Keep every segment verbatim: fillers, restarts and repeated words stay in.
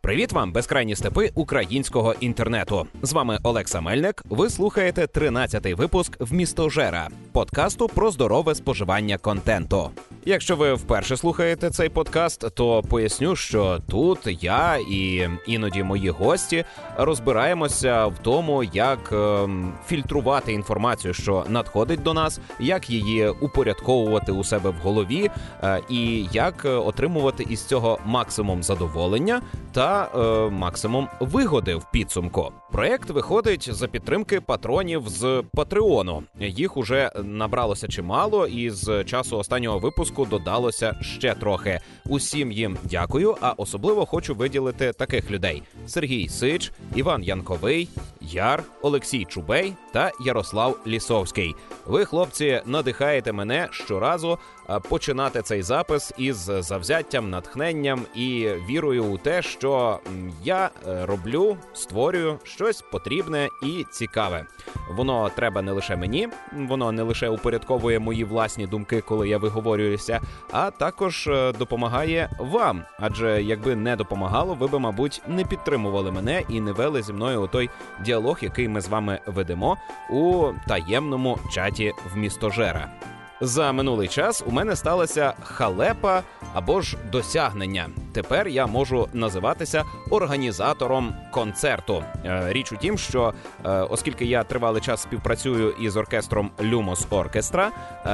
Привіт вам, безкрайні степи українського інтернету. З вами Олекса Мельник. Ви слухаєте тринадцятий випуск «Вмістожера» – подкасту про здорове споживання контенту. Якщо ви вперше слухаєте цей подкаст, то поясню, що тут я і іноді мої гості розбираємося в тому, як е, фільтрувати інформацію, що надходить до нас, як її упорядковувати у себе в голові е, і як отримувати із цього максимум задоволення та е, максимум вигоди в підсумку. Проєкт виходить за підтримки патронів з Патреону. Їх уже набралося чимало, і з часу останнього випуску додалося ще трохи. Усім їм дякую, а особливо хочу виділити таких людей: Сергій Сич, Іван Янковий, Яр, Олексій Чубей та Ярослав Лісовський. Ви, хлопці, надихаєте мене щоразу починати цей запис із завзяттям, натхненням і вірою у те, що я роблю, створюю щось потрібне і цікаве. Воно треба не лише мені, воно не лише упорядковує мої власні думки, коли я виговорююся, а також допомагає вам. Адже якби не допомагало, ви би, мабуть, не підтримували мене і не вели зі мною той діалог, який ми з вами ведемо у таємному чаті «Вмістожера». За минулий час у мене сталася халепа або ж досягнення. Тепер я можу називатися організатором концерту. Річ у тім, що оскільки я тривалий час співпрацюю із оркестром Lumos Orchestra,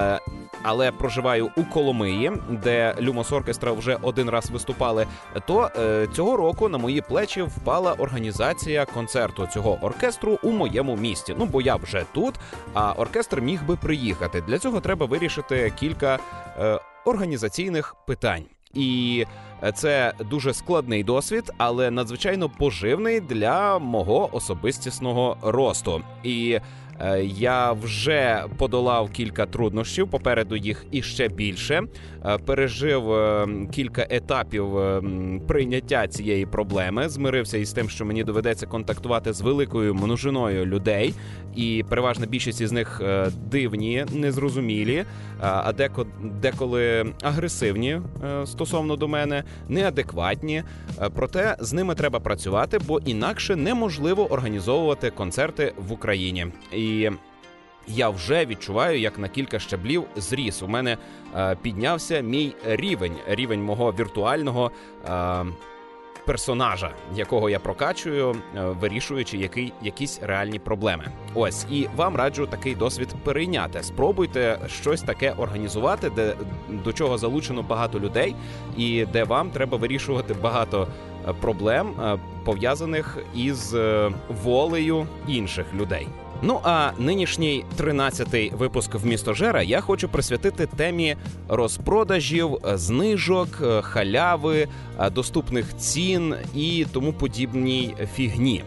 але проживаю у Коломиї, де Lumos Orchestra вже один раз виступали, то цього року на мої плечі впала організація концерту цього оркестру у моєму місті. Ну, бо я вже тут, а оркестр міг би приїхати. Для цього треба вирішити кілька е, організаційних питань. І це дуже складний досвід, але надзвичайно поживний для мого особистісного росту. І е, я вже подолав кілька труднощів, попереду їх іще більше. Е, пережив е, кілька етапів е, прийняття цієї проблеми, змирився із тим, що мені доведеться контактувати з великою множиною людей, і переважна більшість із них е, дивні, незрозумілі, а деко, деколи агресивні е, стосовно до мене, неадекватні. Проте з ними треба працювати, бо інакше неможливо організовувати концерти в Україні. І я вже відчуваю, як на кілька щаблів зріс. У мене е, піднявся мій рівень, рівень мого віртуального е, персонажа, якого я прокачую, вирішуючи який, якісь реальні проблеми. Ось, і вам раджу такий досвід перейняти. Спробуйте щось таке організувати, де, до чого залучено багато людей, і де вам треба вирішувати багато проблем, пов'язаних із волею інших людей. Ну а нинішній тринадцятий випуск «Вмістожера» я хочу присвятити темі розпродажів, знижок, халяви, доступних цін і тому подібній фігні.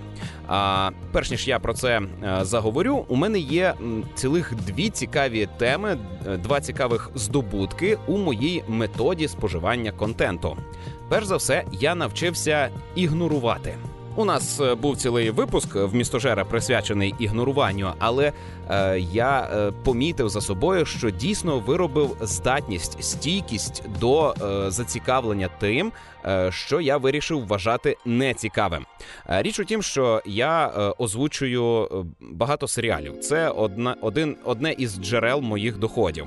А перш ніж я про це заговорю, у мене є цілих дві цікаві теми, два цікавих здобутки у моїй методі споживання контенту. Перш за все, я навчився ігнорувати. У нас був цілий випуск «Вмістожера» присвячений ігноруванню, але е, я е, помітив за собою, що дійсно виробив здатність, стійкість до е, зацікавлення тим, е, що я вирішив вважати нецікавим. Е, річ у тім, що я е, озвучую багато серіалів. Це одна, один, одне із джерел моїх доходів.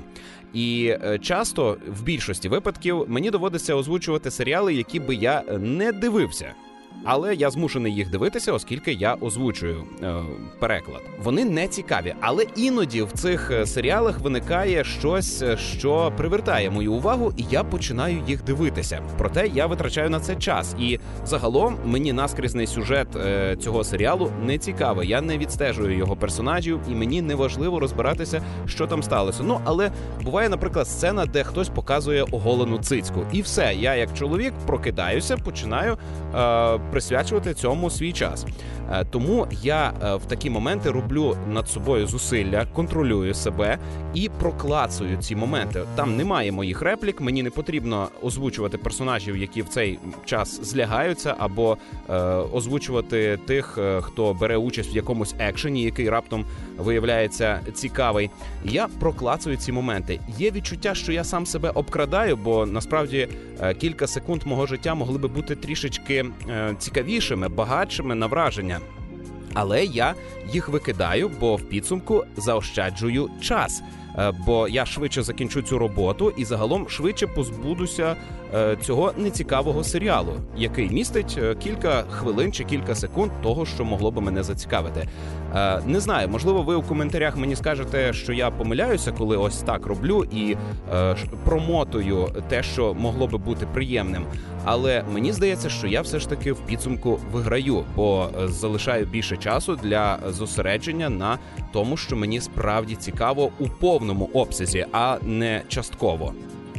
І е, часто, в більшості випадків, мені доводиться озвучувати серіали, які би я не дивився. Але я змушений їх дивитися, оскільки я озвучую е, переклад. Вони не цікаві, але іноді в цих серіалах виникає щось, що привертає мою увагу, і я починаю їх дивитися. Проте я витрачаю на це час, і загалом мені наскрізний сюжет е, цього серіалу не цікавий. Я не відстежую його персонажів, і мені не важливо розбиратися, що там сталося. Ну, але буває, наприклад, сцена, де хтось показує оголену цицьку. І все, я як чоловік прокидаюся, починаю е, присвячувати цьому свій час. Тому я в такі моменти роблю над собою зусилля, контролюю себе і проклацую ці моменти. Там немає моїх реплік, мені не потрібно озвучувати персонажів, які в цей час злягаються, або е, озвучувати тих, хто бере участь в якомусь екшені, який раптом виявляється цікавий. Я проклацую ці моменти. Є відчуття, що я сам себе обкрадаю, бо насправді е, кілька секунд мого життя могли би бути трішечки е, цікавішими, багатшими на враження. Але я їх викидаю, бо в підсумку заощаджую час. Бо я швидше закінчу цю роботу і загалом швидше позбудуся е, цього нецікавого серіалу, який містить е, кілька хвилин чи кілька секунд того, що могло би мене зацікавити. Е, не знаю, можливо, ви у коментарях мені скажете, що я помиляюся, коли ось так роблю і е, промотую те, що могло би бути приємним. Але мені здається, що я все ж таки в підсумку виграю, бо залишаю більше часу для зосередження на тому, що мені справді цікаво у повному обсязі, а не частково.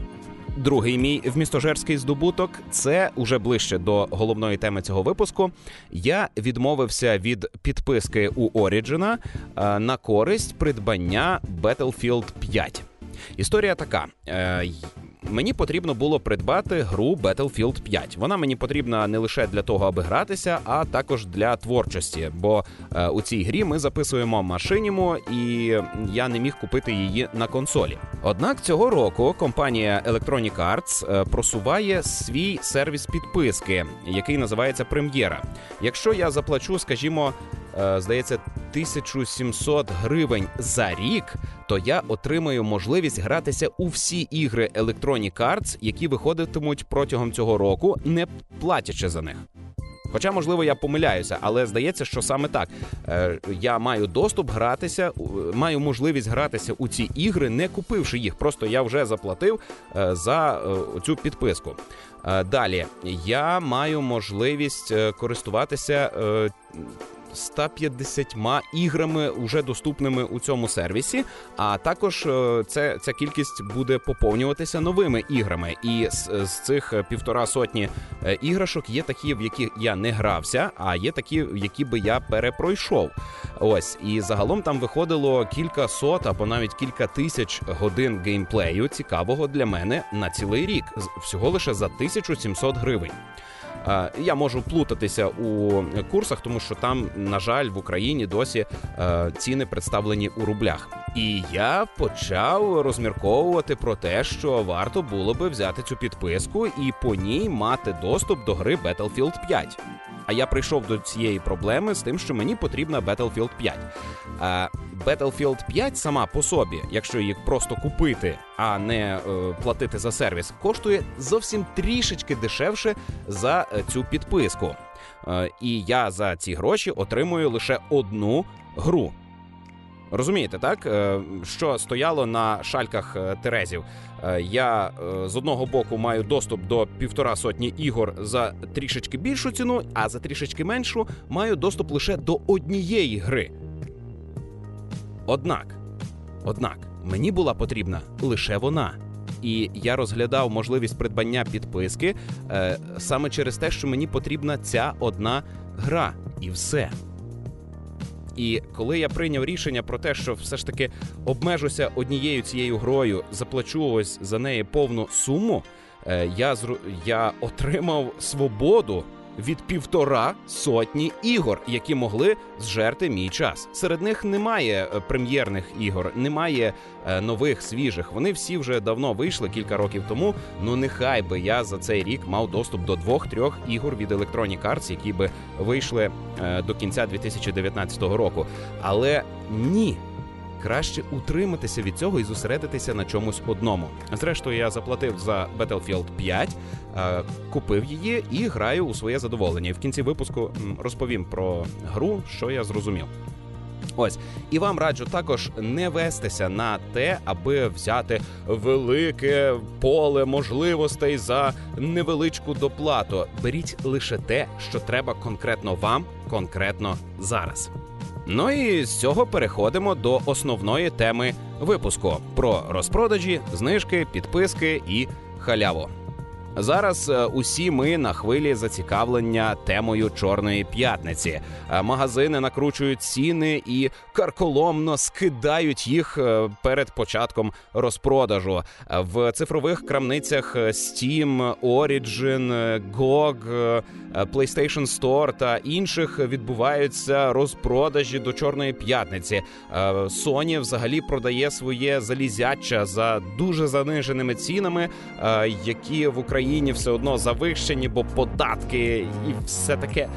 Другий мій вмістожерський здобуток – це уже ближче до головної теми цього випуску. Я відмовився від підписки у Origin на користь придбання Battlefield п'ять. Історія така. Мені потрібно було придбати гру Battlefield п'ять. Вона мені потрібна не лише для того, аби гратися, а також для творчості. Бо е, у цій грі ми записуємо машинімо, і я не міг купити її на консолі. Однак цього року компанія Electronic Arts е, просуває свій сервіс підписки, який називається «Прем'єра». Якщо я заплачу, скажімо, е, здається, тисячу сімсот гривень за рік, то я отримаю можливість гратися у всі ігри Electronic Arts, які виходитимуть протягом цього року, не платячи за них. Хоча, можливо, я помиляюся, але здається, що саме так. Е, я маю доступ гратися, маю можливість гратися у ці ігри, не купивши їх. Просто я вже заплатив е, за е, цю підписку. Е, далі, я маю можливість е, користуватися е, сто п'ятдесятьма іграми, уже доступними у цьому сервісі, а також це, ця кількість буде поповнюватися новими іграми. І з, з цих півтора сотні іграшок є такі, в які я не грався, а є такі, які би я перепройшов. Ось, і загалом там виходило кілька сот або навіть кілька тисяч годин геймплею цікавого для мене на цілий рік, всього лише за тисячу сімсот гривень. Я можу плутатися у курсах, тому що там, на жаль, в Україні досі е, ціни представлені у рублях. І я почав розмірковувати про те, що варто було би взяти цю підписку і по ній мати доступ до гри Battlefield п'ять. А я прийшов до цієї проблеми з тим, що мені потрібна Battlefield п'ять. А Battlefield п'ять сама по собі, якщо її просто купити, а не е, платити за сервіс, коштує зовсім трішечки дешевше за е, цю підписку. Е, і я за ці гроші отримую лише одну гру. Розумієте, так? Що стояло на шальках терезів. Я з одного боку маю доступ до півтора сотні ігор за трішечки більшу ціну, а за трішечки меншу маю доступ лише до однієї гри. Однак, однак, мені була потрібна лише вона. І я розглядав можливість придбання підписки е, саме через те, що мені потрібна ця одна гра. І все. І коли я прийняв рішення про те, що все ж таки обмежуся однією цією грою, заплачу ось за неї повну суму, я, зру... я отримав свободу від півтора сотні ігор, які могли зжерти мій час. Серед них немає прем'єрних ігор, немає е, нових, свіжих. Вони всі вже давно вийшли, кілька років тому. Ну нехай би я за цей рік мав доступ до двох-трьох ігор від Electronic Arts, які би вийшли е, до кінця дві тисячі дев'ятнадцятого року. Але ні. Краще утриматися від цього і зосередитися на чомусь одному. Зрештою, я заплатив за Battlefield п'ять, купив її і граю у своє задоволення. І в кінці випуску розповім про гру, що я зрозумів. Ось. І вам раджу також не вестися на те, аби взяти велике поле можливостей за невеличку доплату. Беріть лише те, що треба конкретно вам, конкретно зараз. Ну і з цього переходимо до основної теми випуску – про розпродажі, знижки, підписки і халяву. Зараз усі ми на хвилі зацікавлення темою Чорної п'ятниці. Магазини накручують ціни і карколомно скидають їх перед початком розпродажу. В цифрових крамницях Steam, Origin, джі о джі, PlayStation Store та інших відбуваються розпродажі до Чорної п'ятниці. Sony взагалі продає своє залізяча за дуже заниженими цінами, які в Україні Україні все одно завищені, бо податки і все таке.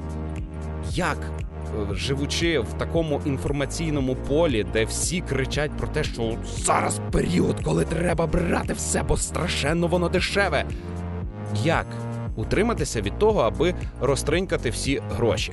Як, живучи в такому інформаційному полі, де всі кричать про те, що зараз період, коли треба брати все, бо страшенно воно дешеве, як утриматися від того, аби розтринькати всі гроші?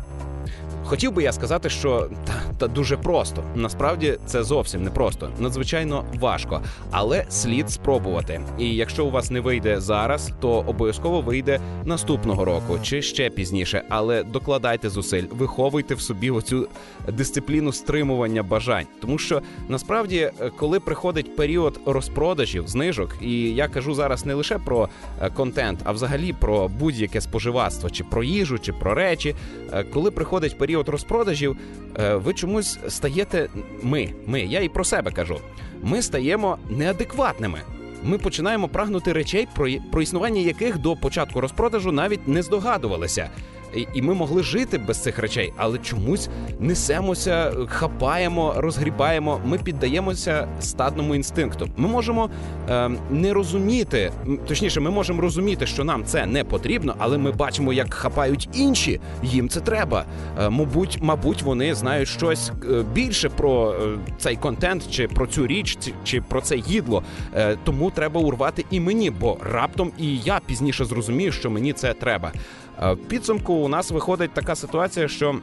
Хотів би я сказати, що та, та дуже просто. Насправді це зовсім не просто. Надзвичайно важко. Але слід спробувати. І якщо у вас не вийде зараз, то обов'язково вийде наступного року чи ще пізніше. Але докладайте зусиль, виховуйте в собі оцю дисципліну стримування бажань. Тому що насправді, коли приходить період розпродажів, знижок, і я кажу зараз не лише про контент, а взагалі про будь-яке споживацтво, чи про їжу, чи про речі, коли приходить період от розпродажів, ви чомусь стаєте, ми, ми, я і про себе кажу, ми стаємо неадекватними. Ми починаємо прагнути речей, про, про існування яких до початку розпродажу навіть не здогадувалися. І, і ми могли жити без цих речей, але чомусь несемося, хапаємо, розгрібаємо, ми піддаємося стадному інстинкту. Ми можемо е, не розуміти, точніше, ми можемо розуміти, що нам це не потрібно, але ми бачимо, як хапають інші, їм це треба. Е, мабуть, мабуть, вони знають щось більше про е, цей контент, чи про цю річ, чи, чи про це їдло. Е, тому треба урвати і мені, бо раптом і я пізніше зрозумію, що мені це треба. В підсумку у нас виходить така ситуація, що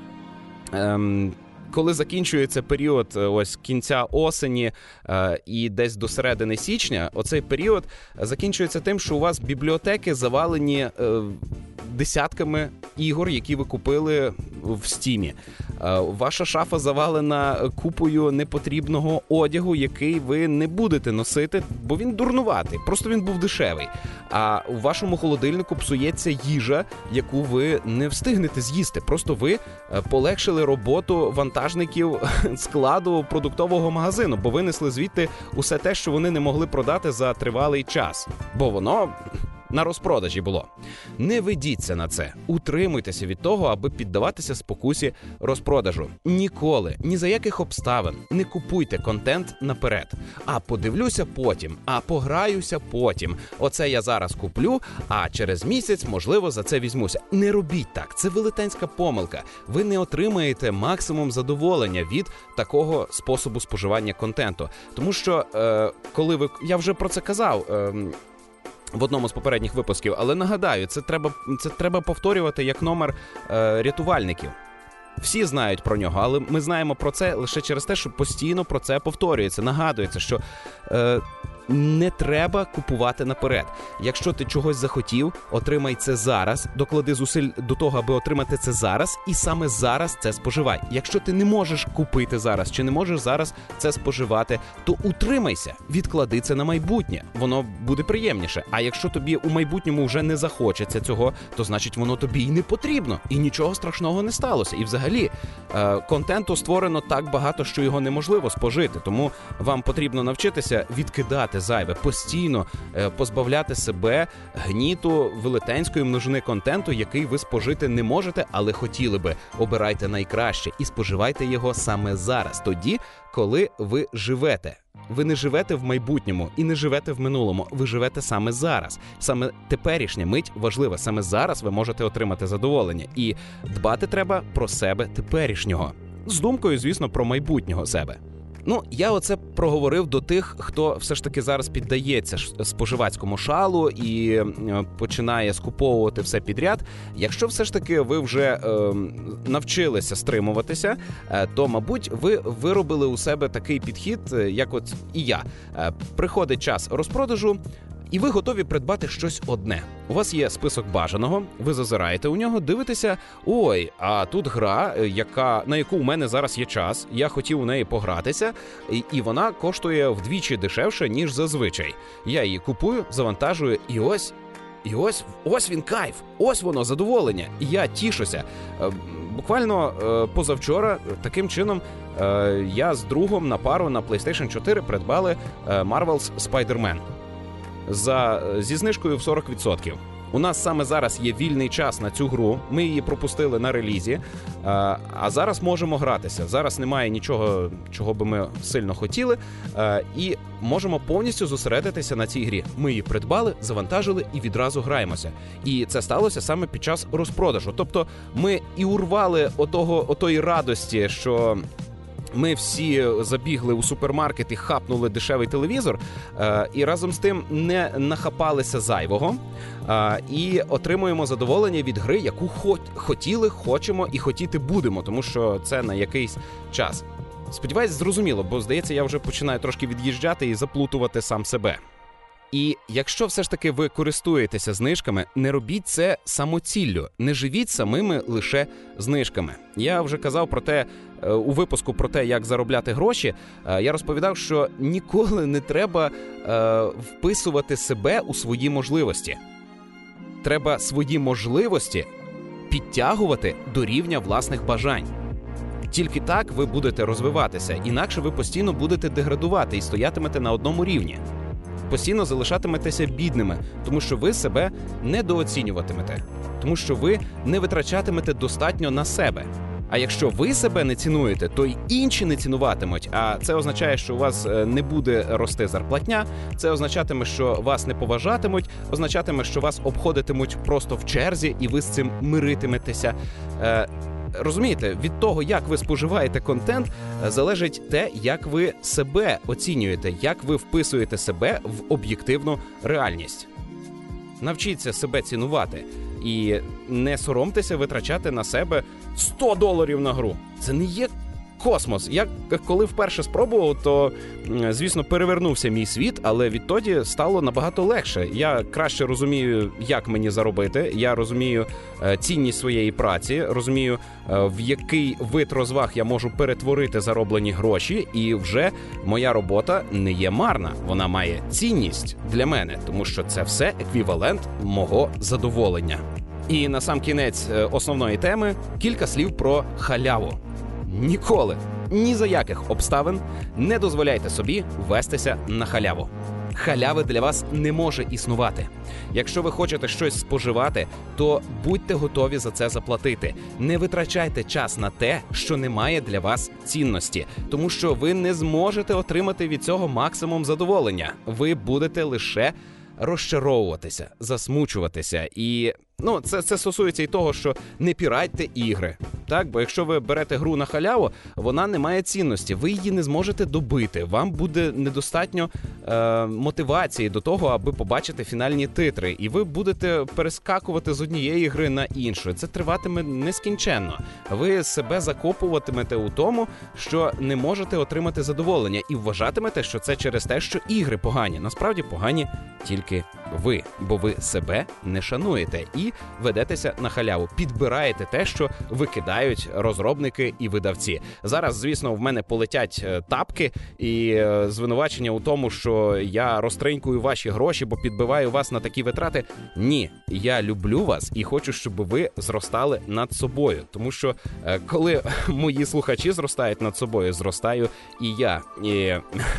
ем, коли закінчується період ось кінця осені е, і десь до середини січня, оцей період закінчується тим, що у вас бібліотеки завалені е, десятками ігор, які ви купили в Стімі. Ваша шафа завалена купою непотрібного одягу, який ви не будете носити, бо він дурнуватий, просто він був дешевий. А у вашому холодильнику псується їжа, яку ви не встигнете з'їсти. Просто ви полегшили роботу вантажників складу продуктового магазину, бо винесли звідти усе те, що вони не могли продати за тривалий час. Бо воно на розпродажі було. Не ведіться на це. Утримуйтеся від того, аби піддаватися спокусі розпродажу. Ніколи, ні за яких обставин не купуйте контент наперед. А подивлюся потім, а пограюся потім. Оце я зараз куплю, а через місяць, можливо, за це візьмуся. Не робіть так. Це велетенська помилка. Ви не отримаєте максимум задоволення від такого способу споживання контенту. Тому що, е, коли ви... Я вже про це казав... Е, в одному з попередніх випусків, але нагадаю, це треба, це треба повторювати як номер е, рятувальників. Всі знають про нього, але ми знаємо про це лише через те, що постійно про це повторюється, нагадується, що е, не треба купувати наперед. Якщо ти чогось захотів, отримай це зараз, доклади зусиль до того, аби отримати це зараз, і саме зараз це споживай. Якщо ти не можеш купити зараз, чи не можеш зараз це споживати, то утримайся, відклади це на майбутнє. Воно буде приємніше. А якщо тобі у майбутньому вже не захочеться цього, то значить воно тобі і не потрібно. І нічого страшного не сталося. І взагалі, е, контенту створено так багато, що його неможливо спожити. Тому вам потрібно навчитися відкидати зайве, постійно е, позбавляти себе гніту велетенської множини контенту, який ви спожити не можете, але хотіли би. Обирайте найкраще і споживайте його саме зараз, тоді, коли ви живете. Ви не живете в майбутньому і не живете в минулому, ви живете саме зараз. Саме теперішня мить важлива, саме зараз ви можете отримати задоволення. І дбати треба про себе теперішнього. З думкою, звісно, про майбутнього себе. Ну, я оце проговорив до тих, хто все ж таки зараз піддається споживацькому шалу і починає скуповувати все підряд. Якщо все ж таки ви вже е, навчилися стримуватися, е, то, мабуть, ви виробили у себе такий підхід, як от і я. Е, приходить час розпродажу, і ви готові придбати щось одне. У вас є список бажаного, ви зазираєте у нього, дивитеся, ой, а тут гра, яка, на яку у мене зараз є час, я хотів у неї погратися, і, і вона коштує вдвічі дешевше, ніж зазвичай. Я її купую, завантажую, і ось, і ось, ось він кайф, ось воно, задоволення. І я тішуся. Буквально позавчора таким чином я з другом на пару на PlayStation чотири придбали Marvel's Spider-Man. За, зі знижкою в сорок відсотків. У нас саме зараз є вільний час на цю гру, ми її пропустили на релізі, а зараз можемо гратися. Зараз немає нічого, чого би ми сильно хотіли, і можемо повністю зосередитися на цій грі. Ми її придбали, завантажили і відразу граємося. І це сталося саме під час розпродажу. Тобто ми і урвали отого, отої радості, що ми всі забігли у супермаркет і хапнули дешевий телевізор, е, і разом з тим не нахапалися зайвого, е, і отримуємо задоволення від гри, яку хо- хотіли, хочемо і хотіти будемо, тому що це на якийсь час. Сподіваюсь, зрозуміло, бо, здається, я вже починаю трошки від'їжджати і заплутувати сам себе. І якщо все ж таки ви користуєтеся знижками, не робіть це самоціллю, не живіть самими лише знижками. Я вже казав про те, у випуску про те, як заробляти гроші, я розповідав, що ніколи не треба е, вписувати себе у свої можливості. Треба свої можливості підтягувати до рівня власних бажань. Тільки так ви будете розвиватися, інакше ви постійно будете деградувати і стоятимете на одному рівні. Постійно залишатиметеся бідними, тому що ви себе недооцінюватимете, тому що ви не витрачатимете достатньо на себе. А якщо ви себе не цінуєте, то й інші не цінуватимуть, а це означає, що у вас не буде рости зарплатня, це означатиме, що вас не поважатимуть, означатиме, що вас обходитимуть просто в черзі і ви з цим миритиметеся. Розумієте, від того, як ви споживаєте контент, залежить те, як ви себе оцінюєте, як ви вписуєте себе в об'єктивну реальність. Навчіться себе цінувати і не соромтеся витрачати на себе сто доларів на гру. Це не є космос. Я коли вперше спробував, то, звісно, перевернувся мій світ, але відтоді стало набагато легше. Я краще розумію, як мені заробити, я розумію е, цінність своєї праці, розумію, е, в який вид розваг я можу перетворити зароблені гроші, і вже моя робота не є марна. Вона має цінність для мене, тому що це все еквівалент мого задоволення. І на сам кінець основної теми кілька слів про халяву. Ніколи, ні за яких обставин не дозволяйте собі вестися на халяву. Халяви для вас не може існувати. Якщо ви хочете щось споживати, то будьте готові за це заплатити. Не витрачайте час на те, що не має для вас цінності, тому що ви не зможете отримати від цього максимум задоволення. Ви будете лише розчаровуватися, засмучуватися. І ну, це, це стосується і того, що не піратьте ігри. Так, бо якщо ви берете гру на халяву, вона не має цінності, ви її не зможете добити, вам буде недостатньо е, мотивації до того, аби побачити фінальні титри, і ви будете перескакувати з однієї гри на іншу. Це триватиме нескінченно. Ви себе закопуватимете у тому, що не можете отримати задоволення, і вважатимете, що це через те, що ігри погані. Насправді погані тільки ви, бо ви себе не шануєте і ведетеся на халяву, підбираєте те, що викидають розробники і видавці. Зараз, звісно, в мене полетять тапки і звинувачення у тому, що я розтринькую ваші гроші, бо підбиваю вас на такі витрати. Ні, я люблю вас і хочу, щоб ви зростали над собою, тому що коли мої слухачі зростають над собою, зростаю і я. І...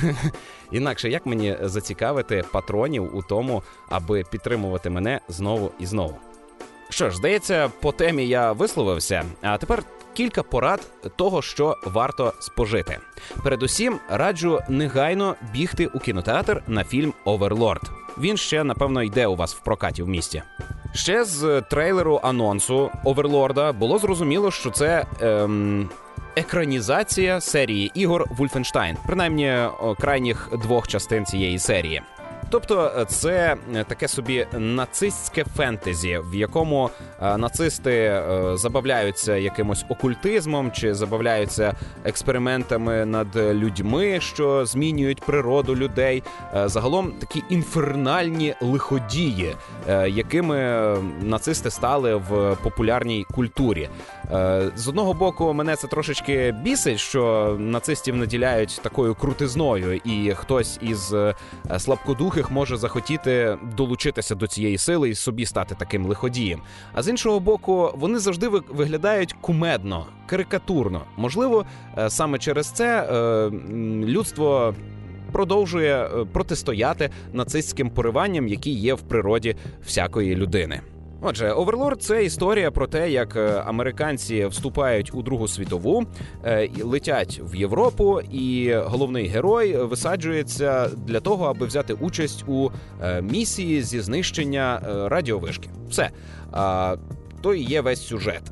Інакше як мені зацікавити патронів у тому, аби підтримувати мене знову і знову? Що ж, здається, по темі я висловився, а тепер кілька порад того, що варто спожити. Передусім, раджу негайно бігти у кінотеатр на фільм «Оверлорд». Він ще, напевно, йде у вас в прокаті в місті. Ще з трейлеру анонсу «Оверлорда» було зрозуміло, що це... Ем... екранізація серії ігор «Вольфенштайн», принаймні крайніх двох частин цієї серії. Тобто це таке собі нацистське фентезі, в якому нацисти забавляються якимось окультизмом чи забавляються експериментами над людьми, що змінюють природу людей. Загалом такі інфернальні лиходії, якими нацисти стали в популярній культурі. З одного боку, мене це трошечки бісить, що нацистів наділяють такою крутизною, і хтось із слабкодухих може захотіти долучитися до цієї сили і собі стати таким лиходієм. А з іншого боку, вони завжди виглядають кумедно, карикатурно. Можливо, саме через це людство продовжує протистояти нацистським пориванням, які є в природі всякої людини. Отже, «Оверлорд» – це історія про те, як американці вступають у Другу світову, летять в Європу, і головний герой висаджується для того, аби взяти участь у місії зі знищення радіовишки. Все. То і є весь сюжет.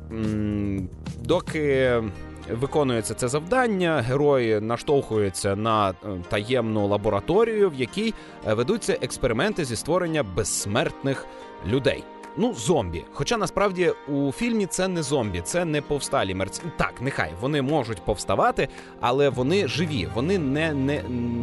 Доки виконується це завдання, герой наштовхується на таємну лабораторію, в якій ведуться експерименти зі створення безсмертних людей. Ну, зомбі. Хоча, насправді, у фільмі це не зомбі, це не повсталі мерці. Так, нехай, вони можуть повставати, але вони живі, вони не... не...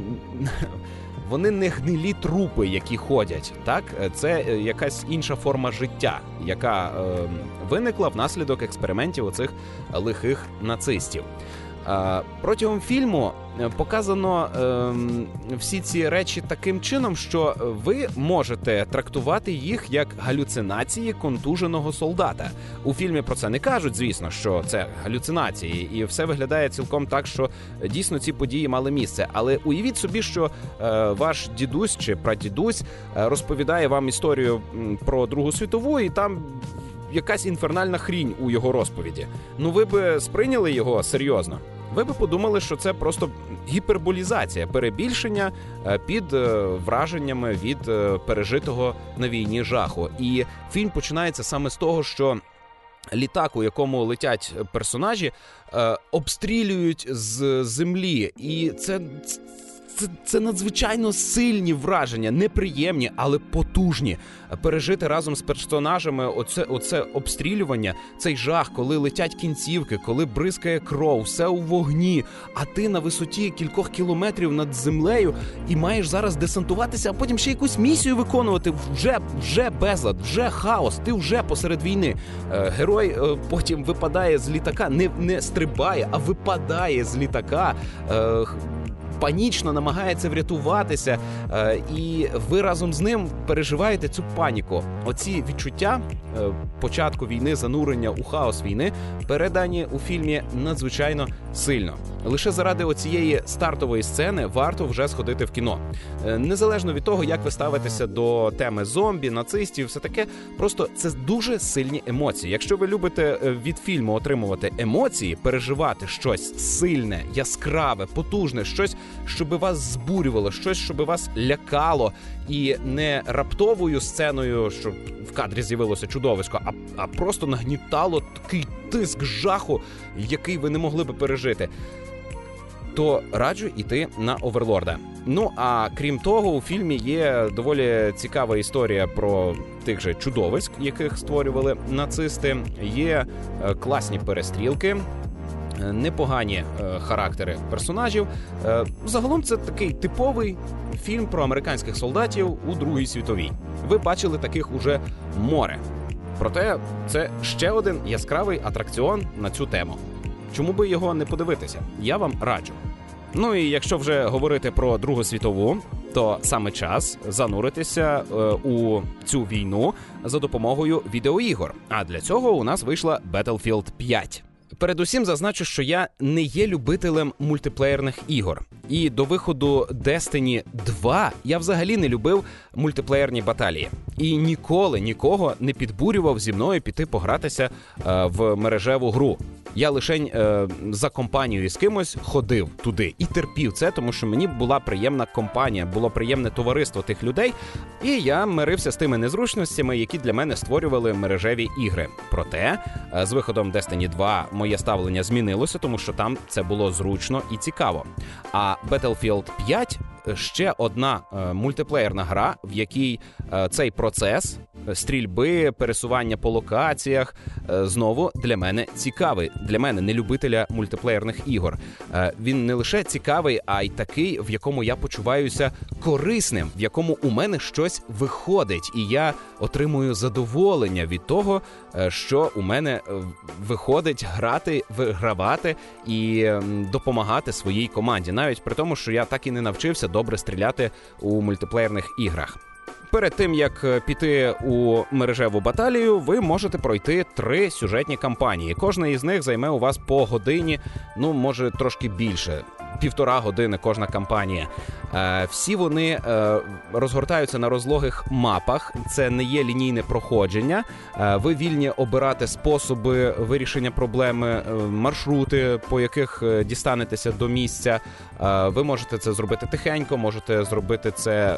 Вони не гнилі трупи, які ходять, так? Це якась інша форма життя, яка е, виникла внаслідок експериментів оцих лихих нацистів. Е, протягом фільму показано е, всі ці речі таким чином, що ви можете трактувати їх як галюцинації контуженого солдата. У фільмі про це не кажуть, звісно, що це галюцинації, і все виглядає цілком так, що дійсно ці події мали місце. Але уявіть собі, що е, ваш дідусь чи прадідусь е, розповідає вам історію про Другу світову, і там якась інфернальна хрінь у його розповіді. Ну ви б сприйняли його серйозно? Ви б подумали, що це просто гіперболізація, перебільшення під враженнями від пережитого на війні жаху. І фільм починається саме з того, що літак, у якому летять персонажі, обстрілюють з землі. І це... Це, це надзвичайно сильні враження, неприємні, але потужні. Пережити разом з персонажами оце, оце обстрілювання, цей жах, коли летять кінцівки, коли бризкає кров, все у вогні, а ти на висоті кількох кілометрів над землею і маєш зараз десантуватися, а потім ще якусь місію виконувати. Вже, вже безлад, вже хаос, ти вже посеред війни. Герой потім випадає з літака, не, не стрибає, а випадає з літака, панічно намагається врятуватися, е, і ви разом з ним переживаєте цю паніку. Оці відчуття е, початку війни, занурення у хаос війни передані у фільмі надзвичайно сильно. Лише заради оцієї стартової сцени варто вже сходити в кіно. Е, незалежно від того, як ви ставитеся до теми зомбі, нацистів, все таке, просто це дуже сильні емоції. Якщо ви любите від фільму отримувати емоції, переживати щось сильне, яскраве, потужне, щось, щоби вас збурювало, щось, щоби вас лякало, і не раптовою сценою, що в кадрі з'явилося чудовисько, а, а просто нагнітало такий тиск жаху, який ви не могли би пережити, то раджу йти на «Оверлорда». Ну, а крім того, у фільмі є доволі цікава історія про тих же чудовиськ, яких створювали нацисти. Є класні перестрілки, непогані е, характери персонажів. Е, загалом це такий типовий фільм про американських солдатів у Другій світовій. Ви бачили таких уже море. Проте це ще один яскравий атракціон на цю тему. Чому би його не подивитися? Я вам раджу. Ну і якщо вже говорити про Другу світову, то саме час зануритися е, у цю війну за допомогою відеоігор. А для цього у нас вийшла Battlefield п'ять. Передусім зазначу, що я не є любителем мультиплеєрних ігор. І до виходу Destiny два я взагалі не любив мультиплеєрні баталії. І ніколи нікого не підбурював зі мною піти погратися е, в мережеву гру. Я лишень е, за компанією з кимось ходив туди і терпів це, тому що мені була приємна компанія, було приємне товариство тих людей, і я мирився з тими незручностями, які для мене створювали мережеві ігри. Проте, е, з виходом Destiny два моє ставлення змінилося, тому що там це було зручно і цікаво. А Battlefield п'ять ще одна е, мультиплеєрна гра, в якій е, цей процес стрільби, пересування по локаціях е, знову для мене цікавий. Для мене, не любителя мультиплеєрних ігор. Е, він не лише цікавий, а й такий, в якому я почуваюся корисним, в якому у мене щось виходить, і я отримую задоволення від того, е, що у мене виходить грати, вигравати і е, допомагати своїй команді. Навіть при тому, що я так і не навчився добре стріляти у мультиплеєрних іграх. Перед тим, як піти у мережеву баталію, ви можете пройти три сюжетні кампанії. Кожна із них займе у вас по годині, ну, може, трошки більше. півтора години кожна кампанія. Всі вони розгортаються на розлогих мапах, це не є лінійне проходження. Ви вільні обирати способи вирішення проблеми, маршрути, по яких дістанетеся до місця. Ви можете це зробити тихенько, можете зробити це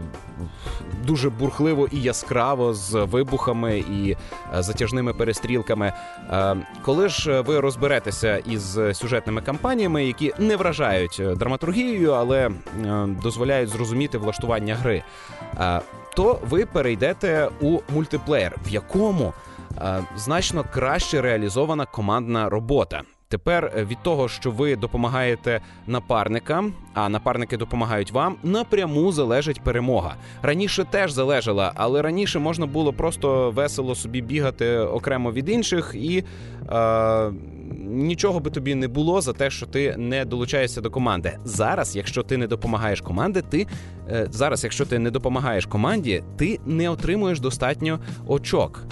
дуже бурхливо і яскраво, з вибухами і затяжними перестрілками. Коли ж ви розберетеся із сюжетними кампаніями, які не вражають драматургією, але дозволяють зрозуміти влаштування гри, то ви перейдете у мультиплеєр, в якому значно краще реалізована командна робота. Тепер від того, що ви допомагаєте напарникам, а напарники допомагають вам, напряму залежить перемога. Раніше теж залежала, але раніше можна було просто весело собі бігати окремо від інших і е, нічого би тобі не було за те, що ти не долучаєшся до команди. Зараз, якщо ти не допомагаєш команді, ти е, зараз, якщо ти не допомагаєш команді, ти не отримуєш достатньо очок.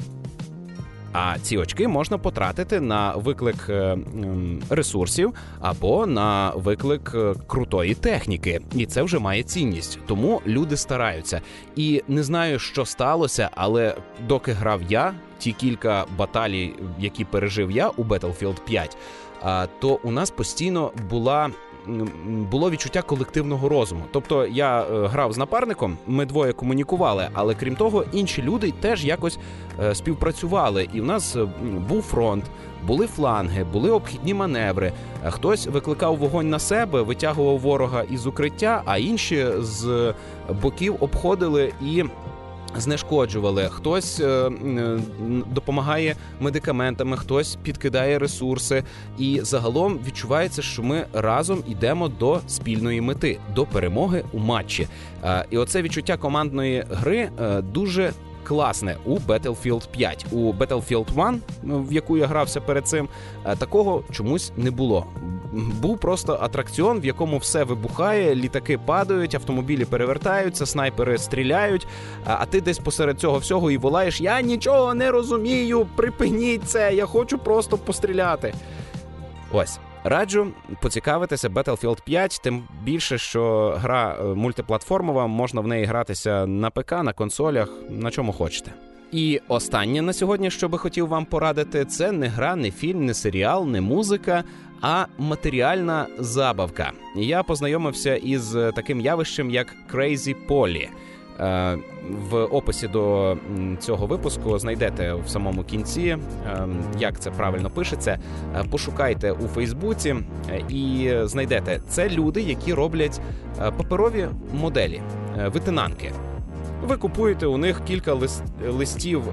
А ці очки можна потратити на виклик ресурсів або на виклик крутої техніки. І це вже має цінність. Тому люди стараються. І не знаю, що сталося, але доки грав я, ті кілька баталій, які пережив я у Battlefield п'ять, то у нас постійно була... було відчуття колективного розуму. Тобто я е, грав з напарником, ми двоє комунікували, але крім того, інші люди теж якось е, співпрацювали. І в нас е, був фронт, були фланги, були обхідні маневри. Хтось викликав вогонь на себе, витягував ворога із укриття, а інші з боків обходили і знешкоджували. Хтось е, допомагає медикаментами, хтось підкидає ресурси. І загалом відчувається, що ми разом йдемо до спільної мети, до перемоги у матчі. Е, і оце відчуття командної гри е, дуже класне у Battlefield п'ять. У Battlefield один, в яку я грався перед цим, такого чомусь не було. Був просто атракціон, в якому все вибухає, літаки падають, автомобілі перевертаються, снайпери стріляють, а ти десь посеред цього всього і волаєш: «Я нічого не розумію, припиніть це, я хочу просто постріляти». Ось. Раджу поцікавитися Battlefield п'ять, тим більше, що гра мультиплатформова, можна в неї гратися на ПК, на консолях, на чому хочете. І останнє на сьогодні, що би хотів вам порадити, це не гра, не фільм, не серіал, не музика, а матеріальна забавка. Я познайомився із таким явищем, як Crazy Polly. В описі до цього випуску знайдете в самому кінці, як це правильно пишеться. Пошукайте у Фейсбуці і знайдете. Це люди, які роблять паперові моделі, витинанки. Ви купуєте у них кілька лист, листів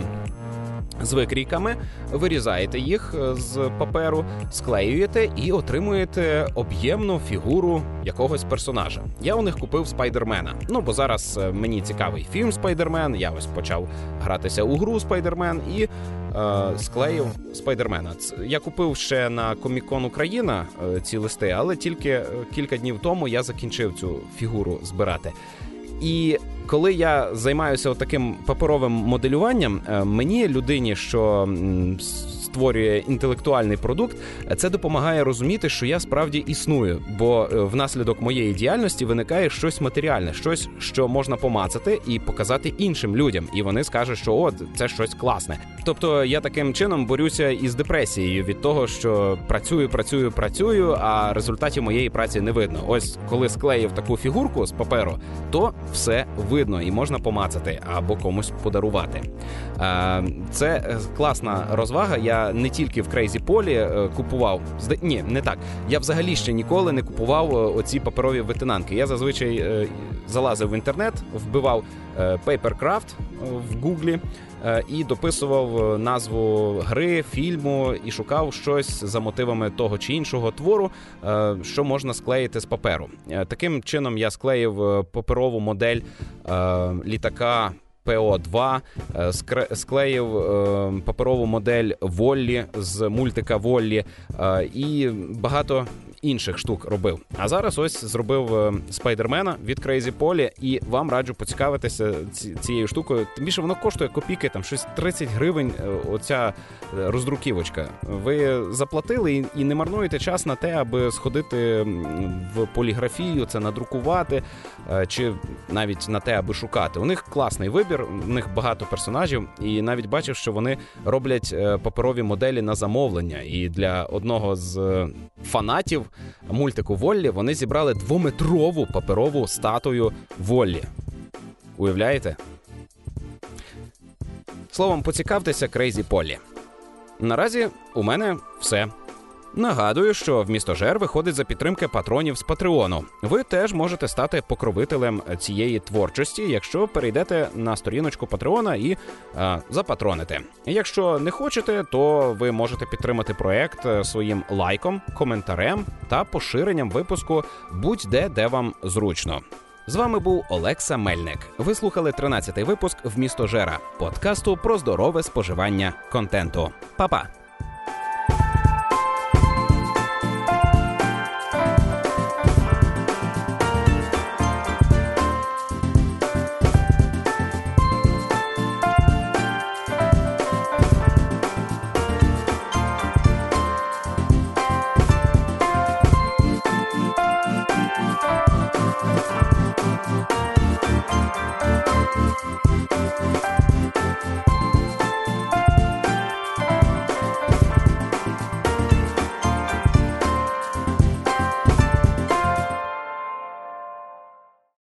з викрійками, вирізаєте їх з паперу, склеюєте і отримуєте об'ємну фігуру якогось персонажа. Я у них купив Спайдермена. Ну, бо зараз мені цікавий фільм Спайдермен, я ось почав гратися у гру Спайдермен і е, склеїв Спайдермена. Я купив ще на Комік-кон Україна е, ці листи, але тільки кілька днів тому я закінчив цю фігуру збирати. І коли я займаюся таким паперовим моделюванням, мені, людині, що створює інтелектуальний продукт, це допомагає розуміти, що я справді існую, бо внаслідок моєї діяльності виникає щось матеріальне, щось, що можна помацати і показати іншим людям, і вони скажуть, що о, це щось класне. Тобто я таким чином борюся із депресією від того, що працюю, працюю, працюю, а результатів моєї праці не видно. Ось коли склеїв таку фігурку з паперу, то все видно і можна помацати або комусь подарувати. Це класна розвага. Я не тільки в Crazy Polly купував, ні, не так. Я взагалі ще ніколи не купував оці паперові витинанки. Я зазвичай залазив в інтернет, вбивав Papercraft в Гуглі і дописував назву гри, фільму і шукав щось за мотивами того чи іншого твору, що можна склеїти з паперу. Таким чином я склеїв паперову модель літака Пі О два, склеїв паперову модель Воллі з мультика Воллі і багато інших штук робив. А зараз ось зробив Спайдермена від Crazy Polly, і вам раджу поцікавитися цією штукою. Тим більше воно коштує копійки, там щось тридцять гривень, оця роздруківочка. Ви заплатили і не марнуєте час на те, аби сходити в поліграфію, це надрукувати, чи навіть на те, аби шукати. У них класний вибір, у них багато персонажів, і навіть бачив, що вони роблять паперові моделі на замовлення. І для одного з фанатів мультику Воллі вони зібрали двометрову паперову статую Воллі. Уявляєте? Словом, поцікавтеся Crazy Polly. Наразі у мене все. Нагадую, що «Вмістожер» виходить за підтримки патронів з Патреону. Ви теж можете стати покровителем цієї творчості, якщо перейдете на сторіночку Патреона і а, запатроните. Якщо не хочете, то ви можете підтримати проект своїм лайком, коментарем та поширенням випуску будь-де, де вам зручно. З вами був Олекса Мельник. Ви слухали тринадцятий випуск «Вмістожера» – подкасту про здорове споживання контенту. Па-па!